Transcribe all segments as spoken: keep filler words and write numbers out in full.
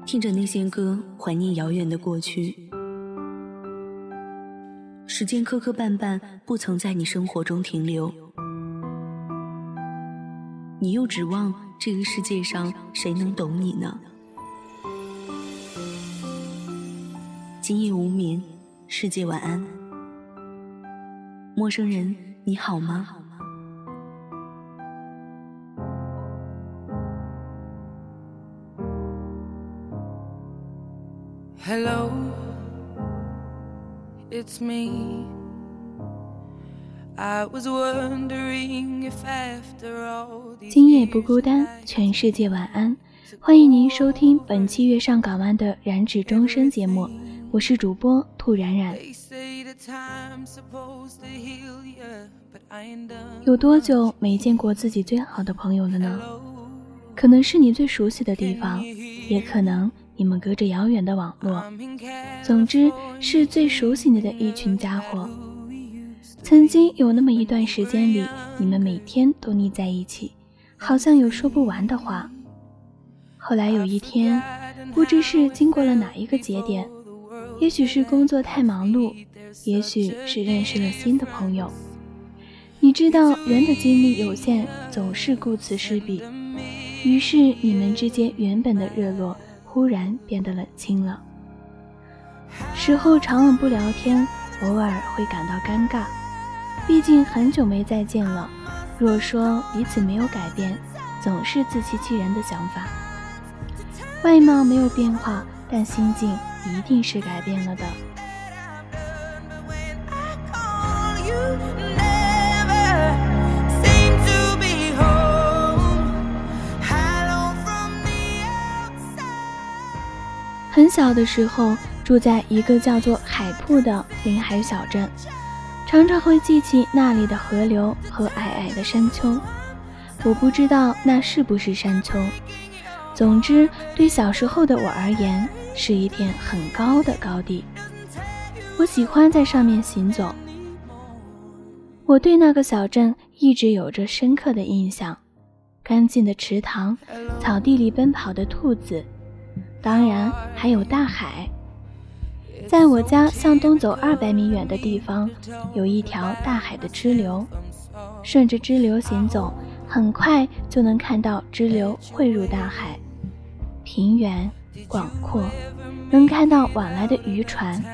听着那些歌，怀念遥远的过去。时间磕磕绊绊，不曾在你生活中停留。你又指望这个世界上谁能懂你呢？今夜无眠，世界晚安。陌生人，你好吗 ？Hello, it's me. I was wondering if after all these 今夜不孤单，全世界晚安。欢迎您收听本期月上港湾的燃指终身节目，我是主播兔冉冉。有多久没见过自己最好的朋友了呢？可能是你最熟悉的地方，也可能你们隔着遥远的网络，总之是最熟悉你的一群家伙。曾经有那么一段时间里，你们每天都腻在一起，好像有说不完的话。后来有一天，不知是经过了哪一个节点，也许是工作太忙碌，也许是认识了新的朋友。你知道人的精力有限，总是顾此失彼，于是你们之间原本的热络忽然变得冷清了。时候长了不聊天，偶尔会感到尴尬，毕竟很久没再见了。若说彼此没有改变，总是自欺欺人的想法。外貌没有变化，但心境一定是改变了的。很小的时候，住在一个叫做海铺的临海小镇，常常会记起那里的河流和矮矮的山丘。我不知道那是不是山丘，总之对小时候的我而言，是一片很高的高地。我喜欢在上面行走。我对那个小镇一直有着深刻的印象，干净的池塘，草地里奔跑的兔子，当然还有大海。在我家向东走二百米远的地方，有一条大海的支流，顺着支流行走，很快就能看到支流汇入大海，平原广阔，能看到往来的渔船。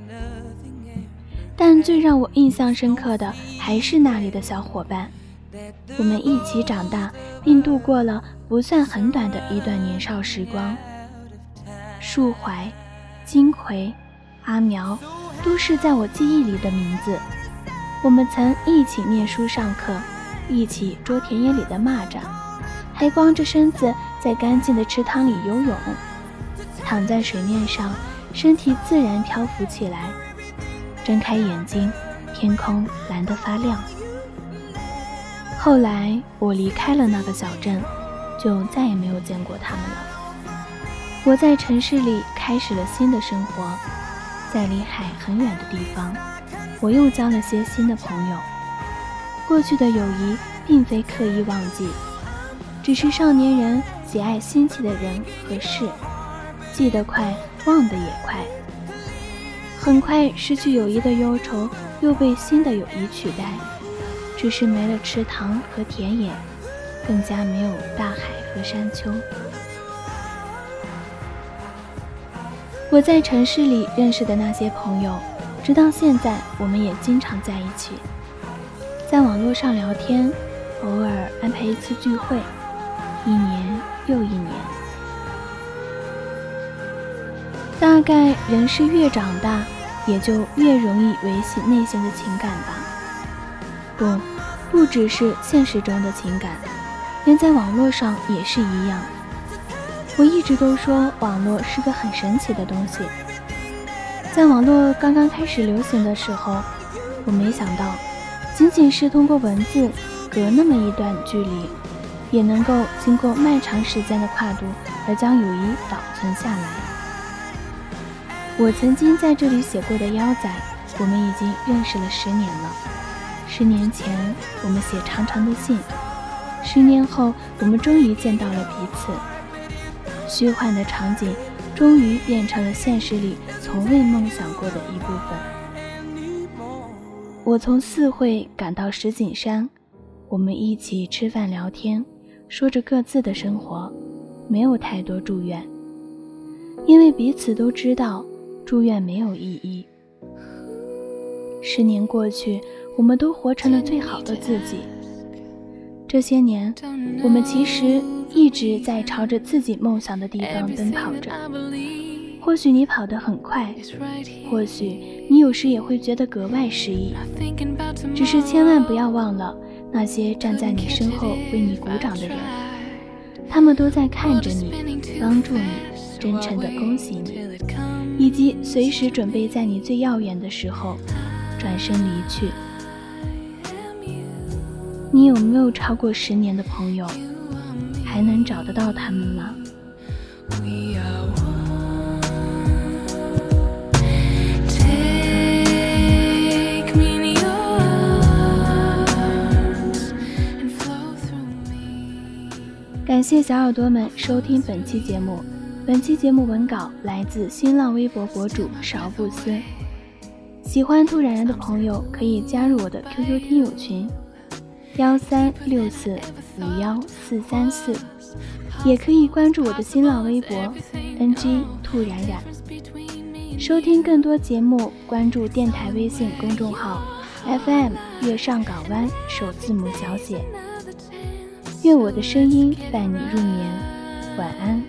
但最让我印象深刻的还是那里的小伙伴，我们一起长大，并度过了不算很短的一段年少时光。树怀、金葵、阿苗都是在我记忆里的名字。我们曾一起念书上课，一起捉田野里的蚂蚱，还光着身子在干净的池塘里游泳，躺在水面上，身体自然漂浮起来。睁开眼睛，天空蓝得发亮。后来我离开了那个小镇，就再也没有见过他们了。我在城市里开始了新的生活，在离海很远的地方，我又交了些新的朋友。过去的友谊并非刻意忘记，只是少年人喜爱新奇的人和事，记得快，忘得也快。很快失去友谊的忧愁又被新的友谊取代，只是没了池塘和田野，更加没有大海和山丘。我在城市里认识的那些朋友，直到现在我们也经常在一起，在网络上聊天，偶尔安排一次聚会，一年又一年。大概人是越长大，也就越容易维系内心的情感吧。不，不只是现实中的情感，连在网络上也是一样。我一直都说网络是个很神奇的东西。在网络刚刚开始流行的时候，我没想到仅仅是通过文字隔那么一段距离，也能够经过漫长时间的跨度而将友谊保存下来。我曾经在这里写过的腰仔，我们已经认识了十年了。十年前我们写长长的信，十年后我们终于见到了彼此。虚幻的场景终于变成了现实里从未梦想过的一部分。我从四会赶到石景山，我们一起吃饭聊天，说着各自的生活，没有太多祝愿，因为彼此都知道祝愿没有意义。十年过去，我们都活成了最好的自己。这些年，我们其实一直在朝着自己梦想的地方奔跑着。或许你跑得很快，或许你有时也会觉得格外失意，只是千万不要忘了那些站在你身后为你鼓掌的人，他们都在看着你，帮助你，真诚地恭喜你，以及随时准备在你最耀眼的时候转身离去。你有没有超过十年的朋友？还能找得到他们吗？感谢小耳朵们收听本期节目。本期节目文稿来自新浪微博博主勺布斯。喜欢兔冉冉的朋友可以加入我的 Q Q 听友群幺三六四五幺四三四，也可以关注我的新浪微博 N G 兔冉冉。收听更多节目，关注电台微信公众号 F M 月上港湾首字母小写。愿我的声音伴你入眠，晚安。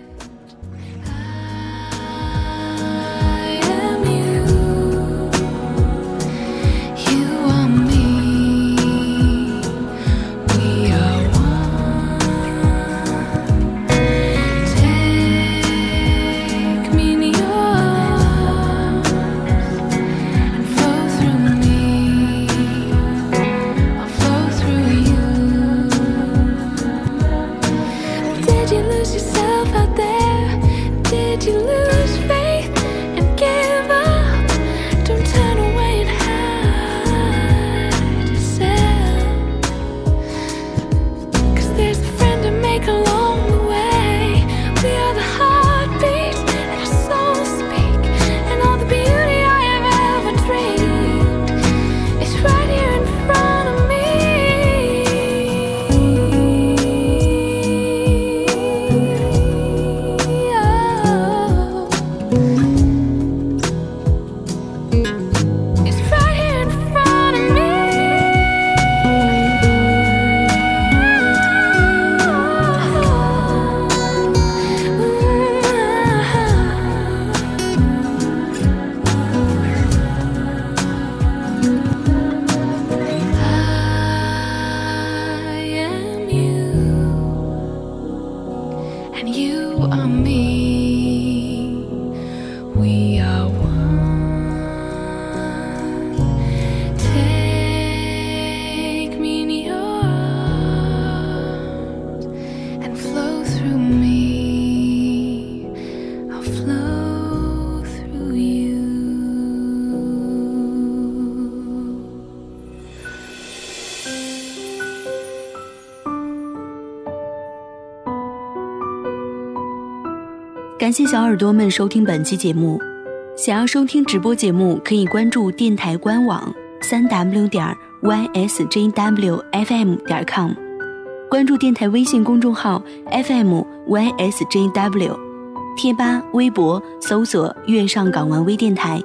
感谢小耳朵们收听本期节目。想要收听直播节目，可以关注电台官网 三 w 点 y s j w f m 点 com， 关注电台微信公众号 F M Y S J W， 贴吧、微博搜索月上港湾微电台。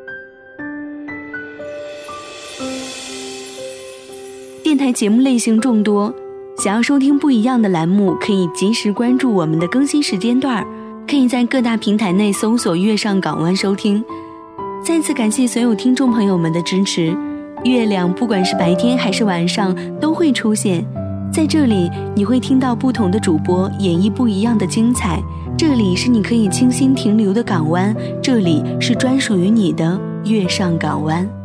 电台节目类型众多，想要收听不一样的栏目，可以及时关注我们的更新时间段，可以在各大平台内搜索月上港湾收听。再次感谢所有听众朋友们的支持。月亮不管是白天还是晚上都会出现在这里，你会听到不同的主播演绎不一样的精彩。这里是你可以清新停留的港湾，这里是专属于你的月上港湾。